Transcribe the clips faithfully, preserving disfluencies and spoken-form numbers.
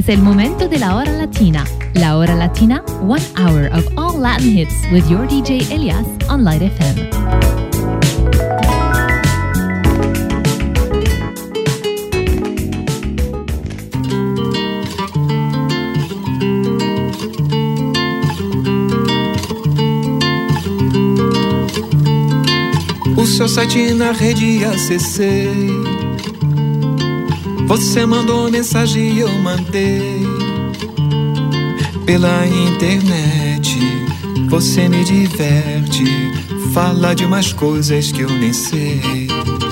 el momento de la hora latina. La hora latina, one hour of all Latin hits with your D J Elias on Light F M. O seu site na rede acessei. Você mandou mensagem e eu mandei. Pela internet você me diverte. Fala de umas coisas que eu nem sei.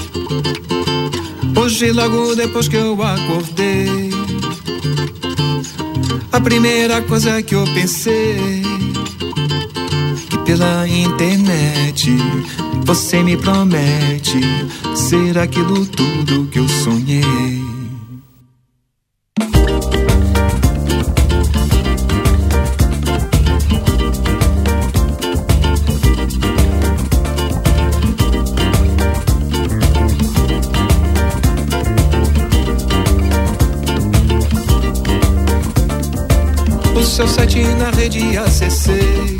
Hoje logo depois que eu acordei, a primeira coisa que eu pensei, que pela internet você me promete ser aquilo tudo que eu sonhei. O seu site na rede acessei.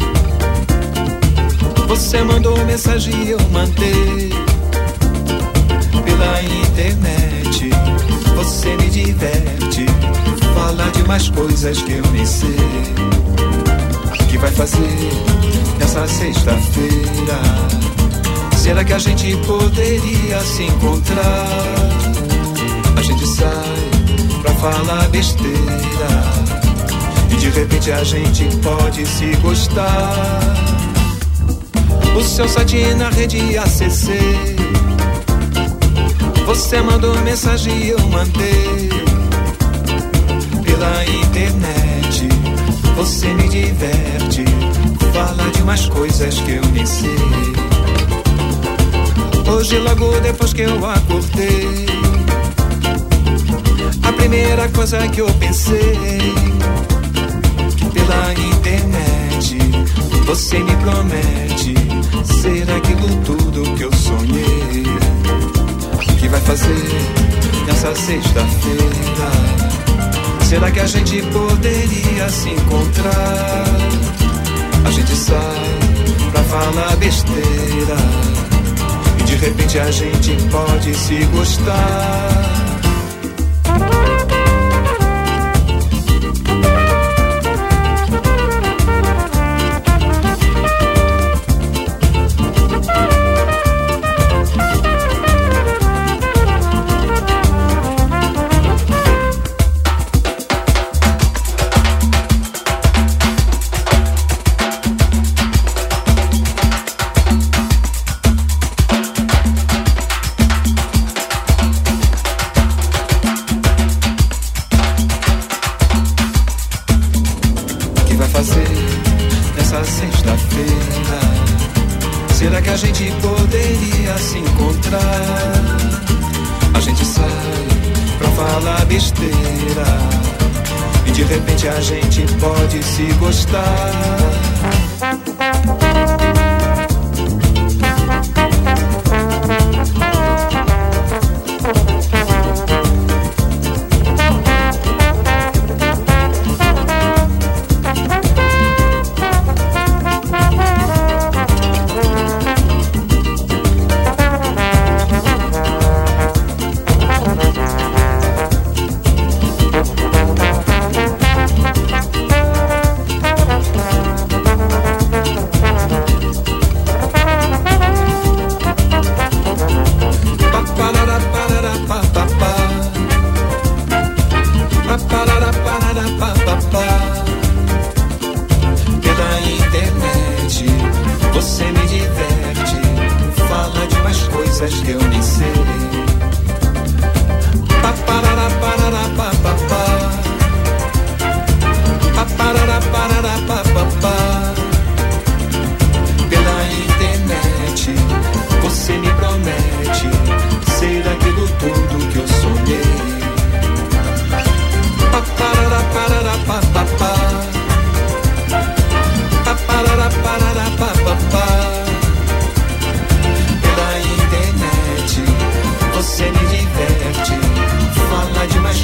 Você mandou mensagem e eu mandei. Pela internet você me diverte. Fala de mais coisas que eu nem sei. O que vai fazer nessa sexta-feira? Será que a gente poderia se encontrar? A gente sai pra falar besteira e de repente a gente pode se gostar. O seu site na rede acessei. Você mandou mensagem e eu mandei. Pela internet você me diverte. Fala de umas coisas que eu nem sei. Hoje logo depois que eu acordei, a primeira coisa que eu pensei, pela internet você me promete ser aquilo tudo que eu sonhei. O que vai fazer nessa sexta-feira? Será que a gente poderia se encontrar? A gente sai pra falar besteira e de repente a gente pode se gostar. Será que a gente poderia se encontrar? A gente sai pra falar besteira e de repente a gente pode se gostar. Pela internet você me diverte. Fala de mais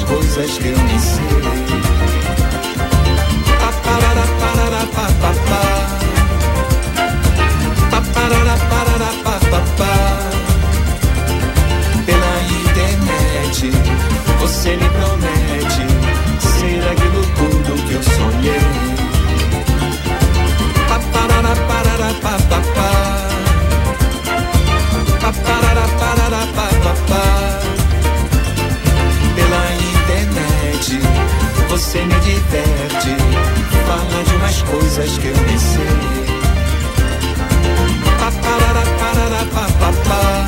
me diverte, fala de umas coisas que eu nem sei. Paparara, parara, papapá.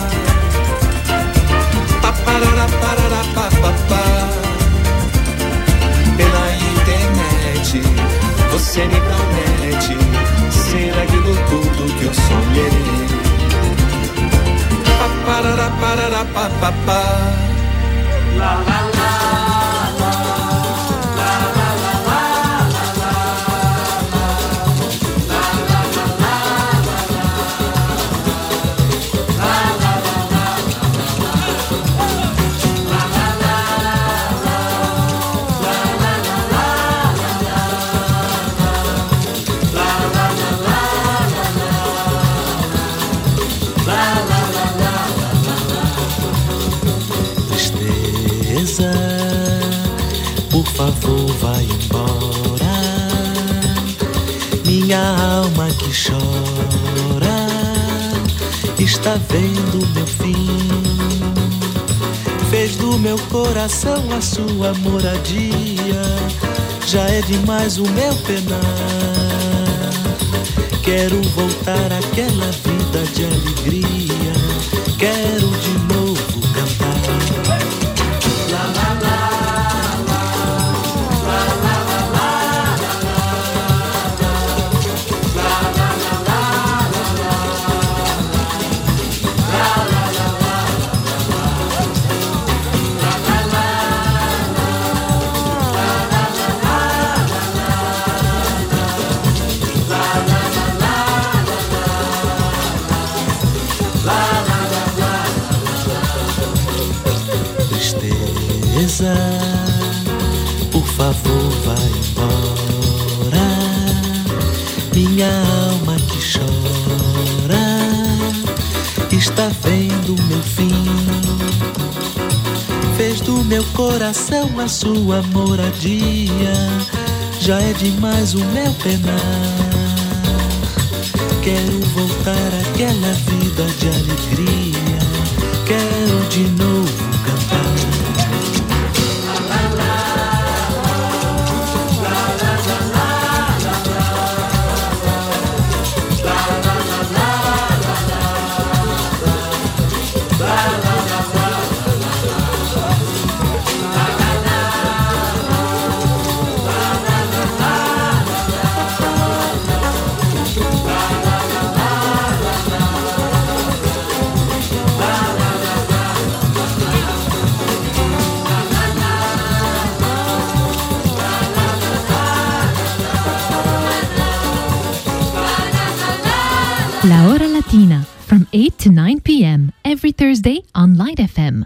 Paparara, parara, papapá. Pela internet você me promete ser aquilo tudo que eu sonhei. Paparara, parara, papapá. La la la. Por favor, vai embora, minha alma que chora, está vendo meu fim. Fez do meu coração a sua moradia, já é demais o meu penar. Quero voltar àquela vida de alegria, quero de novo cantar. La la la. Por favor, vai embora, minha alma que chora, está vendo meu fim. Fez do meu coração a sua moradia, já é demais o meu penar. Quero voltar àquela vida de alegria, quero de novo cantar. La Hora Latina, from eight to nine p.m. every Thursday on Light F M.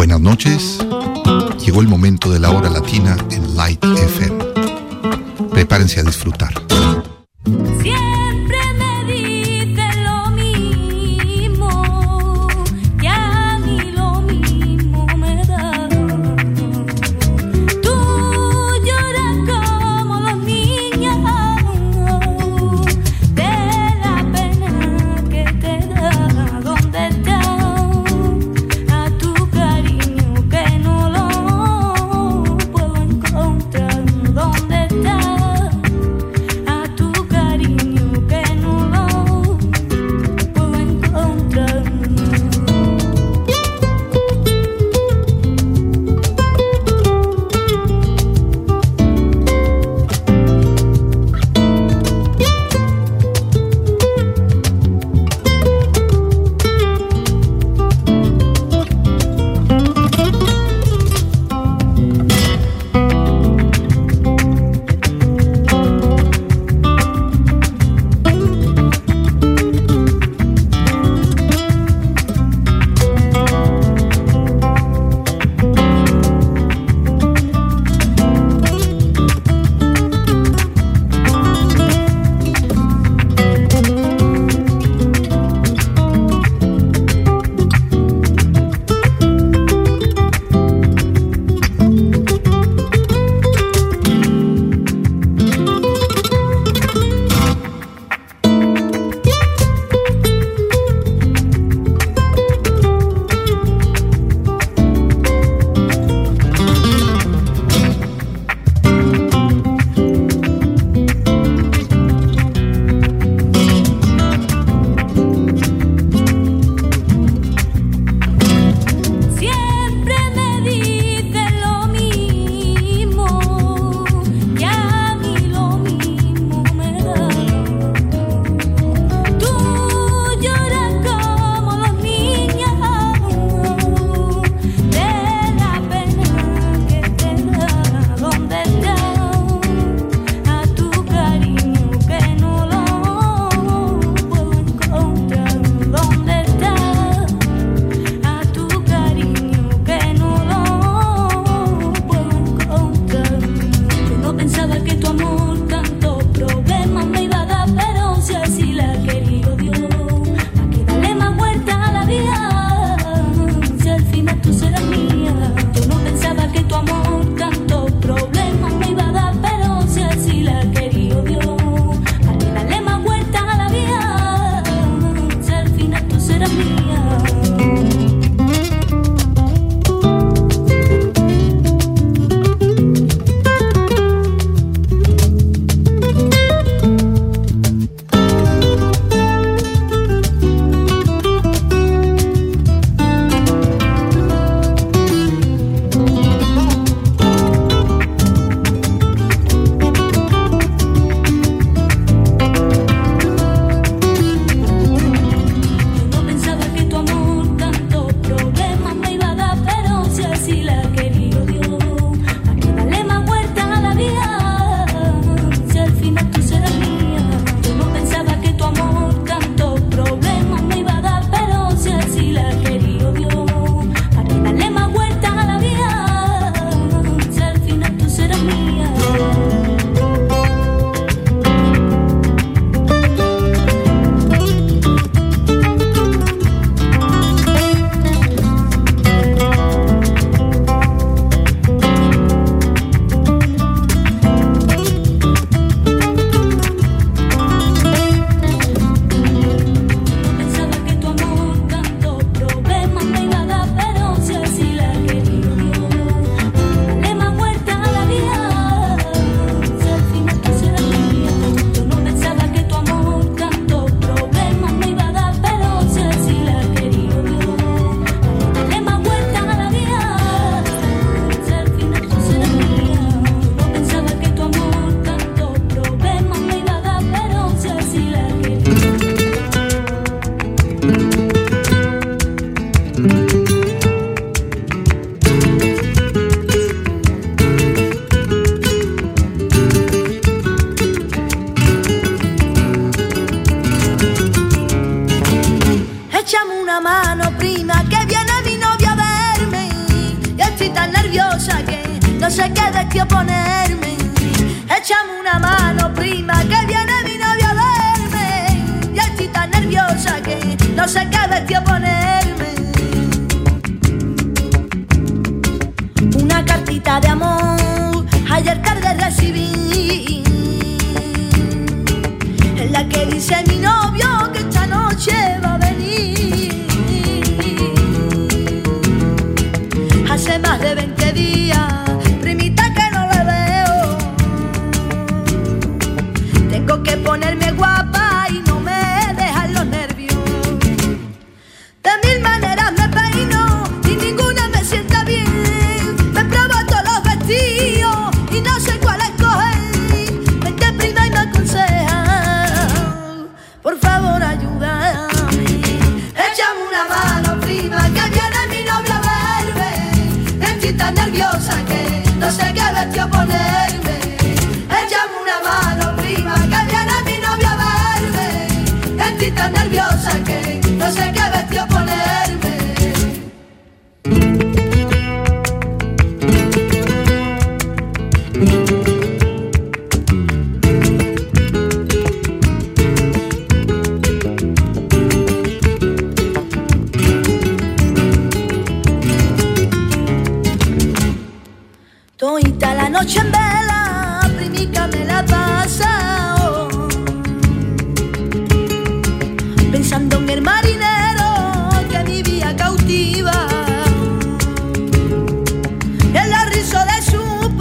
Buenas noches. Llegó el momento de la hora latina en Light F M. Prepárense a disfrutar. Siempre me dices lo mismo, que a mí lo mismo me da. Tú lloras como los niños de la pena que te da. ¿Dónde está a tu cariño que no lo puedo encontrar? ¿Dónde está a no sé qué vestido ponerme. Échame una mano, prima, que viene mi novio a verme. Ya estoy tan nerviosa que no sé qué vestido ponerme. Una cartita de amor ayer tarde recibí, en la que dice mi novio que esta noche va a venir. Hace más de veinte días, primita, que no le veo. Tengo que ponerme guapa y no me dejan los nervios. De mil maneras me peino y ninguna me sienta bien. Me pruebo todos los vestidos y no sé cuál escoger. Vente, prima, y me aconseja, por favor ayúdame. Échame una mano, prima, que viene mi novio a verme. Estoy tan nerviosa que no sé qué vestido ponerme. Échame una mano, prima, que viene mi novio a verme. Estoy tan nerviosa que no sé qué vestido ponerme. Toita la noche en vela, primica, me la pasa, oh, pensando en el marinero que vivía cautiva, en la risa de su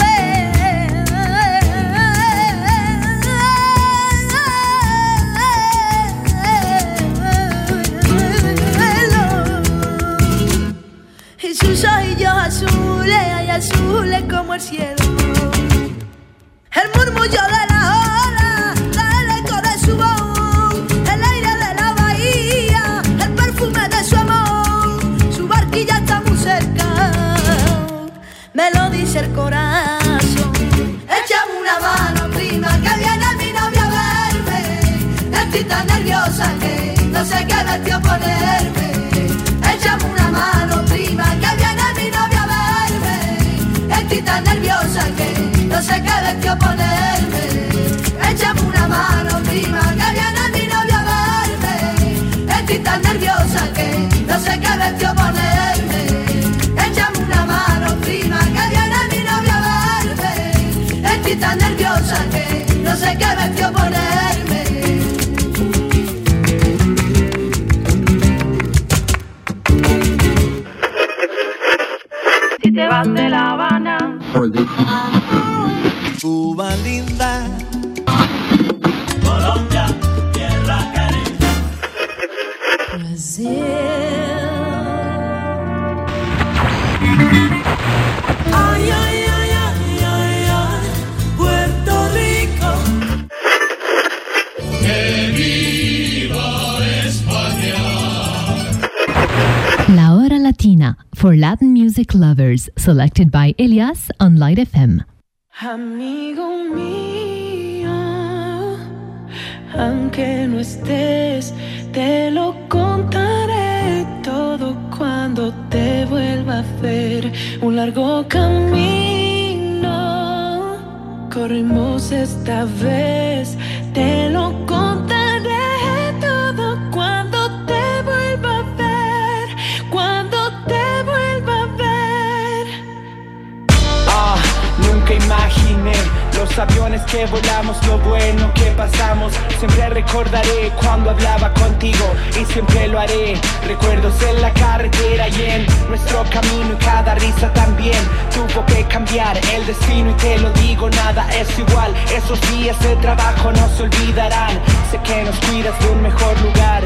pelo y sus ojillos azules, ay, azules como el cielo. El murmullo de la ola, el eco de su voz, el aire de la bahía, el perfume de su amor. Su barquilla está muy cerca, me lo dice el corazón. Échame una mano, prima, que viene mi novio a verme. Estoy tan nerviosa que no sé qué vestido ponerme. Échame una mano, prima, que viene mi novio a verme. Estoy tan nerviosa que no sé qué vestido ponerme. Échame una mano, prima, que viene mi novio a verme. Estoy tan nerviosa que no sé qué vestido ponerme. Échame una mano, prima, que viene mi novio a verme. Estoy tan nerviosa que no sé qué vestido ponerme. Si te vas de La Habana, Cuba linda, Colombia, tierra caliente. Brasil. Ay, ay, ay, ay, ay, ay, Puerto Rico. ¡Que viva España! La Hora Latina, for Latin music lovers, selected by Elias on Light F M. Amigo mío, aunque no estés, te lo contaré todo cuando te vuelva a ver. Un largo camino corrimos esta vez, te lo contaré todo cuando te vuelva a ver, cuando te vuelva a ver. Ah, nunca imaginé los aviones que volamos, lo bueno que pasamos. Siempre recordaré cuando hablaba contigo y siempre lo haré. Recuerdos en la carretera y en nuestro camino, y cada risa también tuvo que cambiar el destino. Y te lo digo, nada es igual. Esos días de trabajo no se olvidarán. Sé que nos cuidas de un mejor lugar.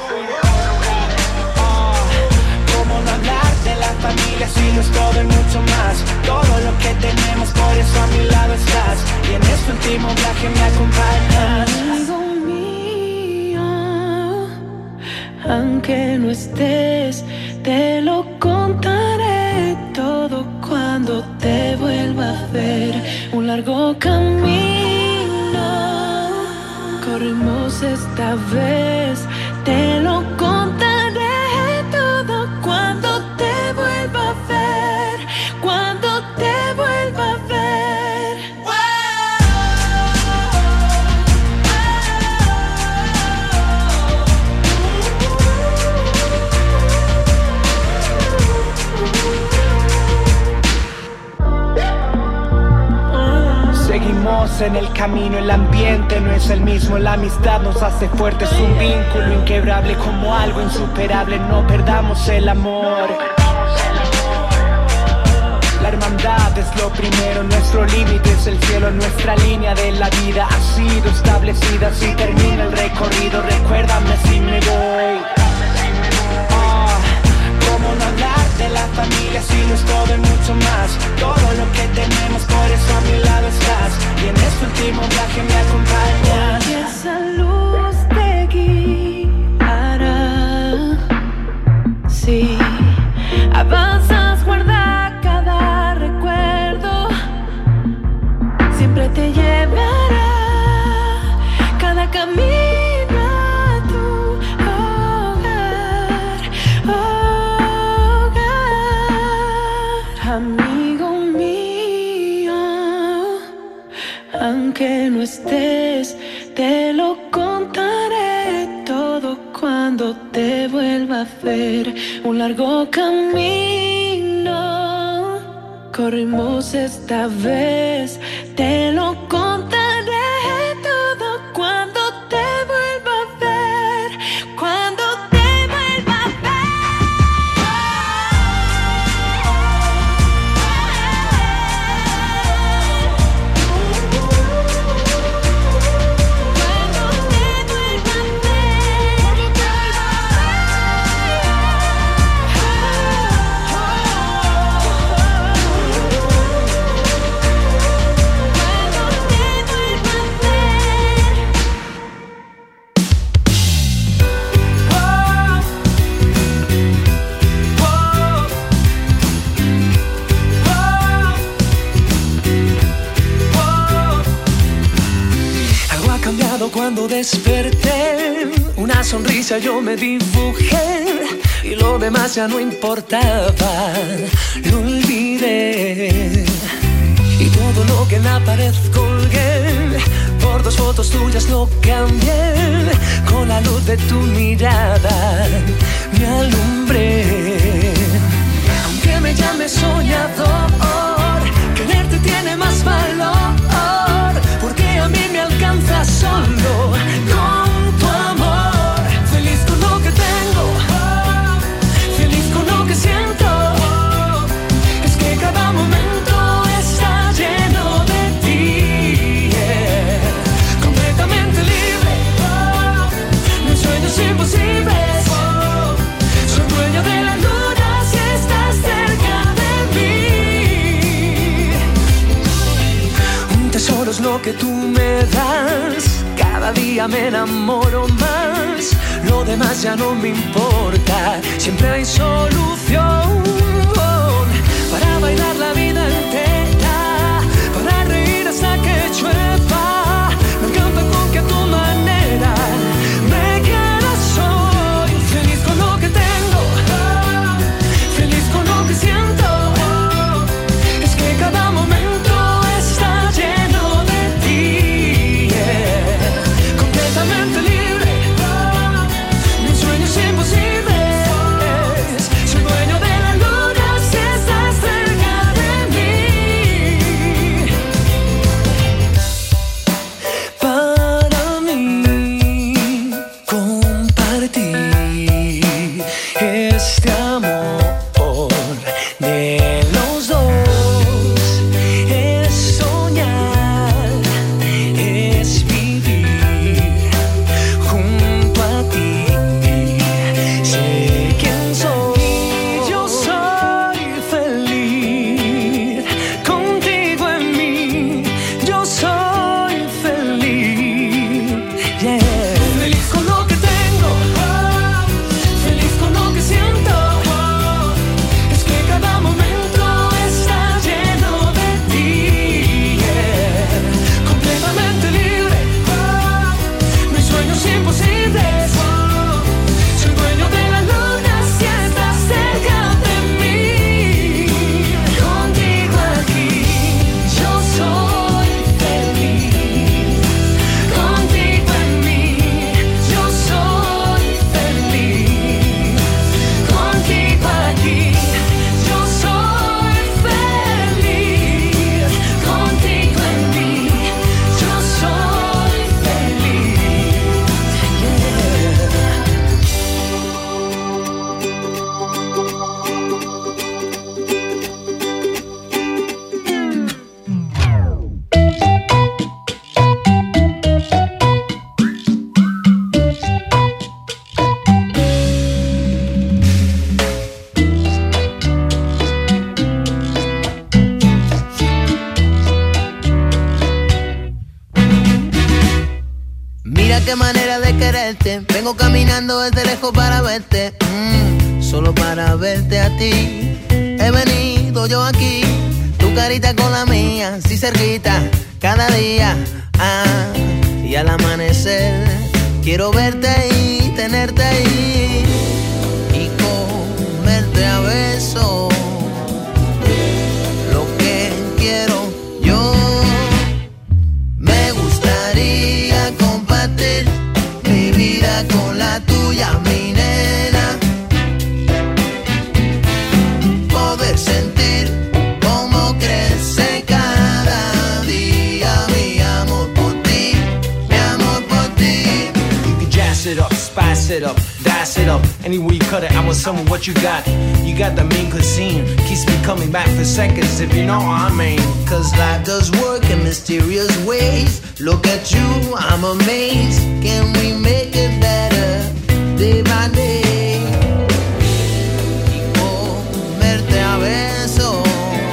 No hablar de la familia, si no es todo y mucho más. Todo lo que tenemos, por eso a mi lado estás. Y en este último viaje me acompañas. Amigo mío, aunque no estés, te lo contaré todo cuando te vuelva a ver. Un largo camino corrimos esta vez, te lo contaré todo cuando te vuelva a ver, cuando te vuelva a perdemos en el camino, el ambiente no es el mismo, la amistad nos hace fuertes, un vínculo inquebrable como algo insuperable, no perdamos el amor. La hermandad es lo primero, nuestro límite es el cielo, nuestra línea de la vida ha sido establecida. Si termina el recorrido, recuérdame si me voy. Oh, ¿cómo no hablar de la familia si no es todo y mucho más? Todo lo que tenemos, por eso a mi lado estás. Y en este último viaje me acompañas. Y esa luz te guiará. Sí, avanzas, guarda cada recuerdo. Siempre te llevará cada camino a tu hogar, hogar. Amigo mío, aunque no estés, te lo contaré todo cuando te vuelva a ver. Un largo camino corrimos esta vez, te lo contaré todo cuando te vuelva a ver, cuando te vuelva a Cuando desperté, una sonrisa yo me dibujé y lo demás ya no importaba, lo olvidé. Y todo lo que en la pared colgué, por dos fotos tuyas lo cambié, con la luz de tu mirada me alumbré. Aunque me llames soñador, quererte tiene más valor, porque a mí me alcanza solo con tu amor. Feliz con lo que tengo, feliz con lo que siento. Es que cada momento está lleno de ti, yeah. Completamente libre, mis sueños imposibles. Soy dueño de la luna si estás cerca de mí. Un tesoro es lo que tú me das, cada día me enamoro más, lo demás ya no me importa, siempre hay solución para bailar la vida entera, para reír hasta que llueva. Me encanta con que a tu manera me quieras hoy. Feliz con lo que tengo, feliz con lo que siento. Es que cada momento está lleno de ti, yeah. Completamente libre, mis sueños imposibles. Soy dueño de la luna qué manera de quererte. Vengo caminando desde lejos para verte, mm, solo para verte a ti. He venido yo aquí, tu carita con la mía, así cerquita, cada día, ah, y al amanecer quiero verte y tenerte ahí y comerte a besos. Lo que quiero yo, me gustaría compartir mi vida con la tuya, mi nena. Poder sentir cómo crece cada día mi amor por ti, mi amor por ti. You can jazz it up, spice it up, dice it up. Anywhere you cut it, I want some of what you got. You got the mean cuisine, keeps me coming back for seconds, if you know what I mean. Cause life does work in mysterious ways. Look at you, I'm amazed. Can we make it better day by day? Y comerte a besos.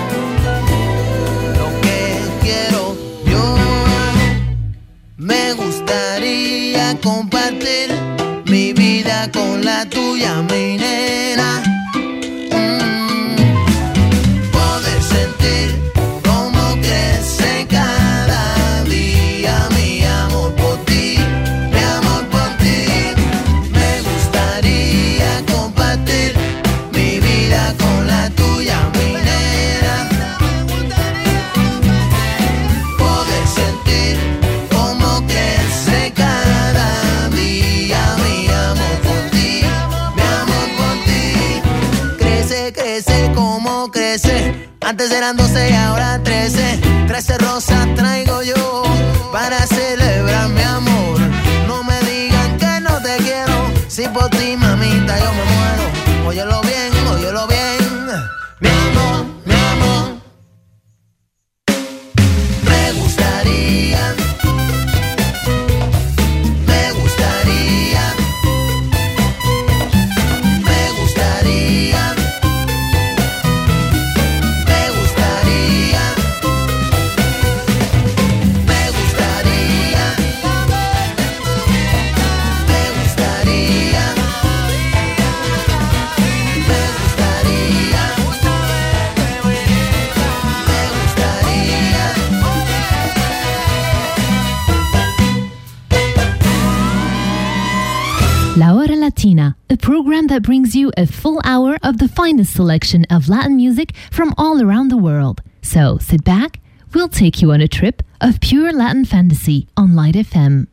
Lo que quiero yo, me gustaría compartir mi vida con la tuya, mi nena. Mm. Poder sentir cómo crece cada día mi amor por ti, mi amor por ti. Me gustaría compartir mi vida con la tuya, mi nena. Poder sentir cómo crece cada día mi amor por ti, mi amor por ti. Crece, crece, como crece. Antes eran doce y ahora trece. Trece rosas traigo yo para celebrar mi amor. No me digan que no te quiero, si por ti, mamita, yo me muero. Óyelo bien, óyelo bien. Mi amor, mi amor. Me gustaría, me gustaría, me gustaría, me gustaría, me gustaría, me gustaría, me gustaría, La Hora Latina, a program that brings you a full hour of the finest selection of Latin music from all around the world. So sit back, we'll take you on a trip of pure Latin fantasy on Light F M.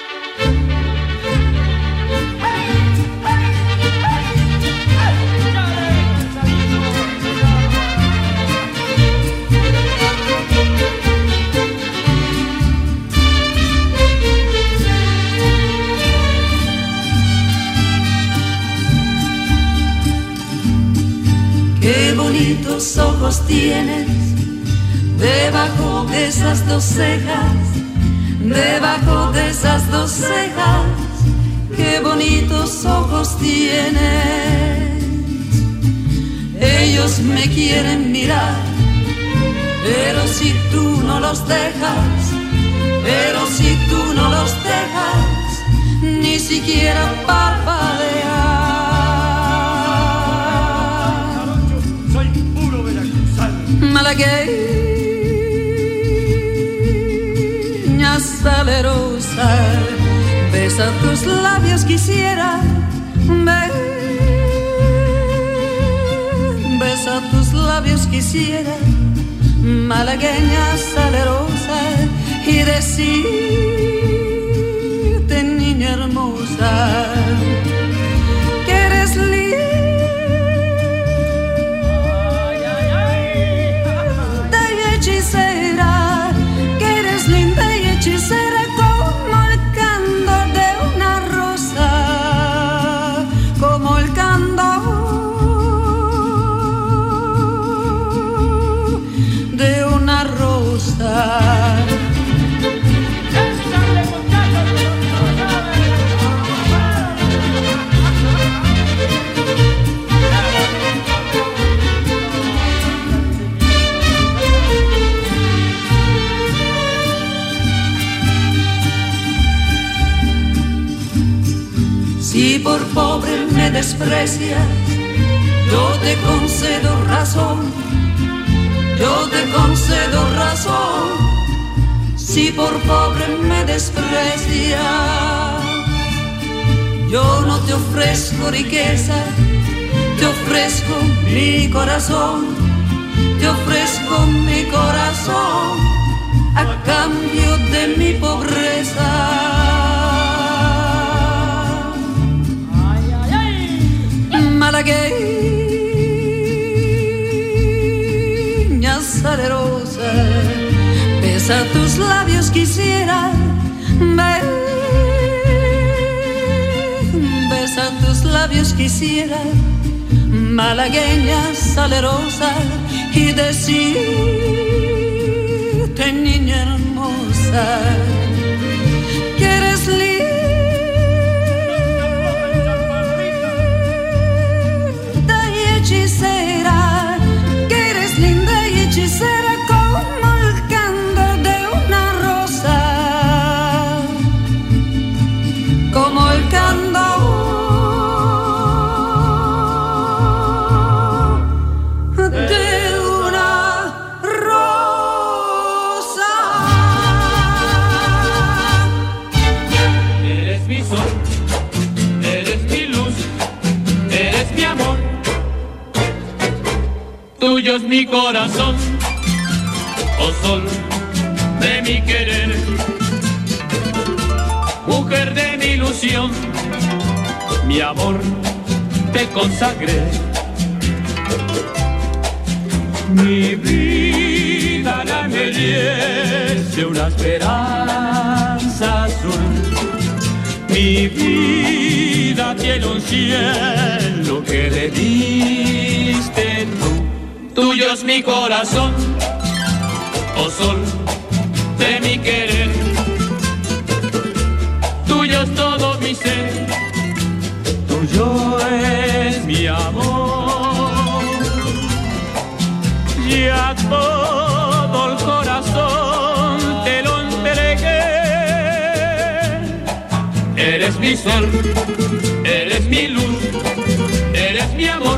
Qué bonitos ojos tienes debajo de esas dos cejas, debajo de esas dos cejas. Qué bonitos ojos tienes. Ellos me quieren mirar, pero si tú no los dejas, pero si tú no los dejas, ni siquiera parpadear. Malagueña salerosa, besa tus labios quisiera, ven, besa tus labios quisiera, malagueña salerosa, y decirte, niña hermosa, que eres linda y hechicera, que eres linda y hechicera como el candor de una rosa, como el candor de una rosa. pobre me desprecia, yo te concedo razón, yo te concedo razón, si por pobre me desprecia. Yo no te ofrezco riqueza, te ofrezco mi corazón, te ofrezco mi corazón a cambio de mi pobreza. Ay, ay, ay. Malagueña salerosa, besa tus labios quisiera, besa tus labios quisiera, malagueña salerosa, y decirte, niña hermosa, que eres linda y hechicera, que eres linda y hechicera como el candor de una rosa, como el candor tuyo es mi corazón, oh sol de mi querer, mujer de mi ilusión, mi amor te consagré. Mi vida la embellece una esperanza azul, mi vida tiene un cielo que le diste tú. Tuyo es mi corazón, oh sol de mi querer, tuyo es todo mi ser, tuyo es mi amor, y a todo el corazón te lo entregué. Eres mi sol, eres mi luz, eres mi amor.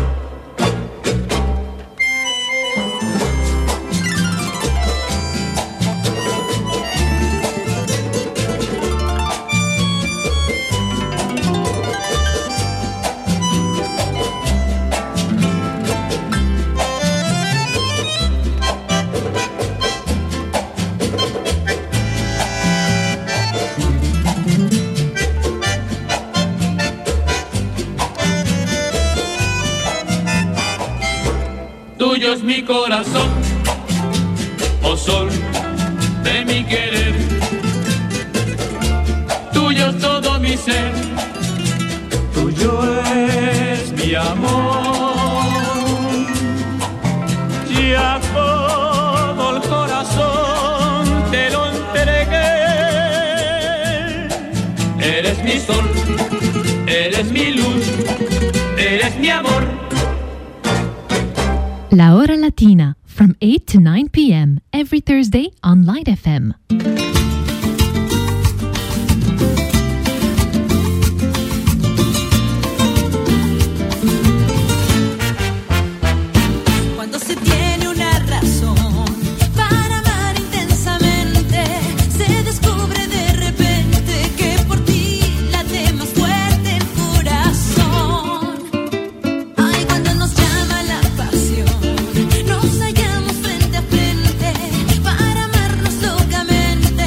Tuyo es mi corazón, oh sol de mi querer, tuyo es todo mi ser, tuyo es mi amor, y a todo el corazón te lo entregué. Eres mi sol, eres mi luz, eres mi amor. La Hora Latina, from eight to nine p.m. every Thursday on Light F M. Cuando se tiene una razón para amar intensamente, se descubre de repente que por ti late más fuerte el corazón. Ay, cuando nos llama la pasión, nos hallamos frente a frente para amarnos locamente.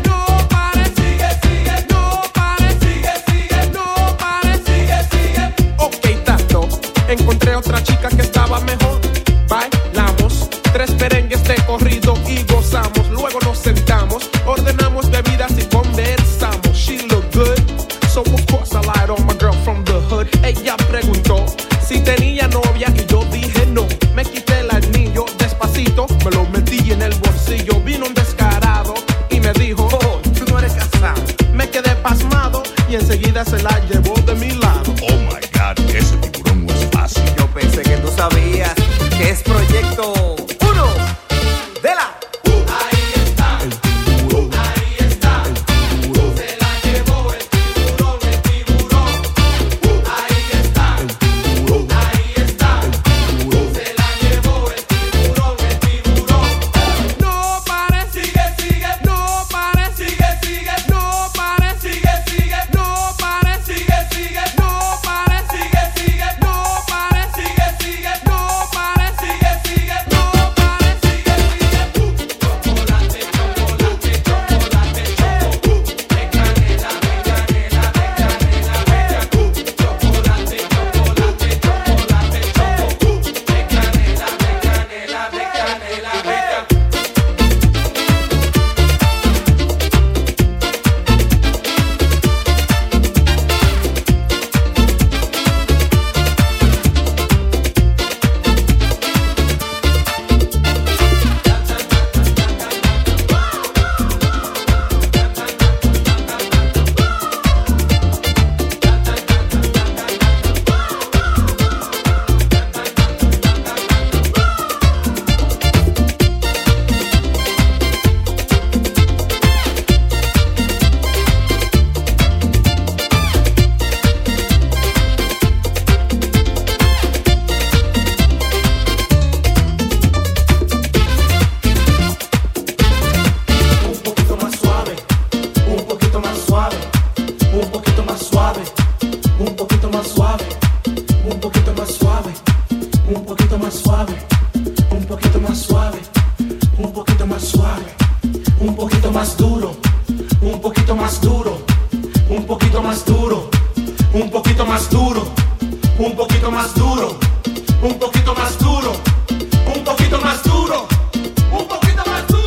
duro, un poquito más duro, un poquito más duro, un poquito más duro, un poquito más duro, un poquito más duro, un poquito más duro, un poquito más duro.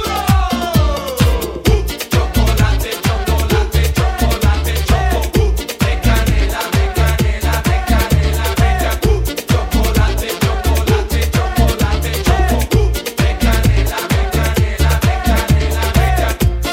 Chocolate, chocolate, chocolate, choco, de canela, de canela, de canela, bella. Chocolate, chocolate, chocolate, choco, de canela, de canela, de canela, bella.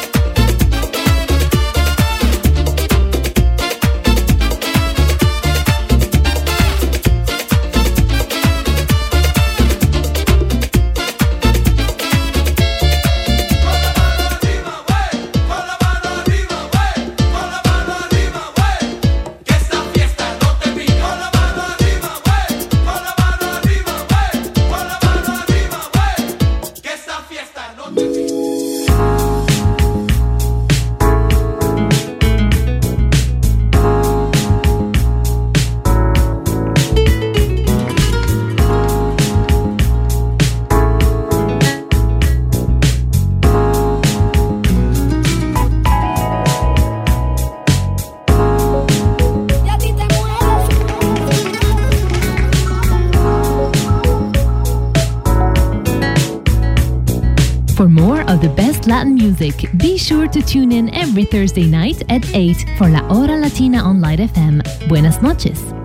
For more of the best Latin music, be sure to tune in every Thursday night at eight for La Hora Latina on Light F M. Buenas noches.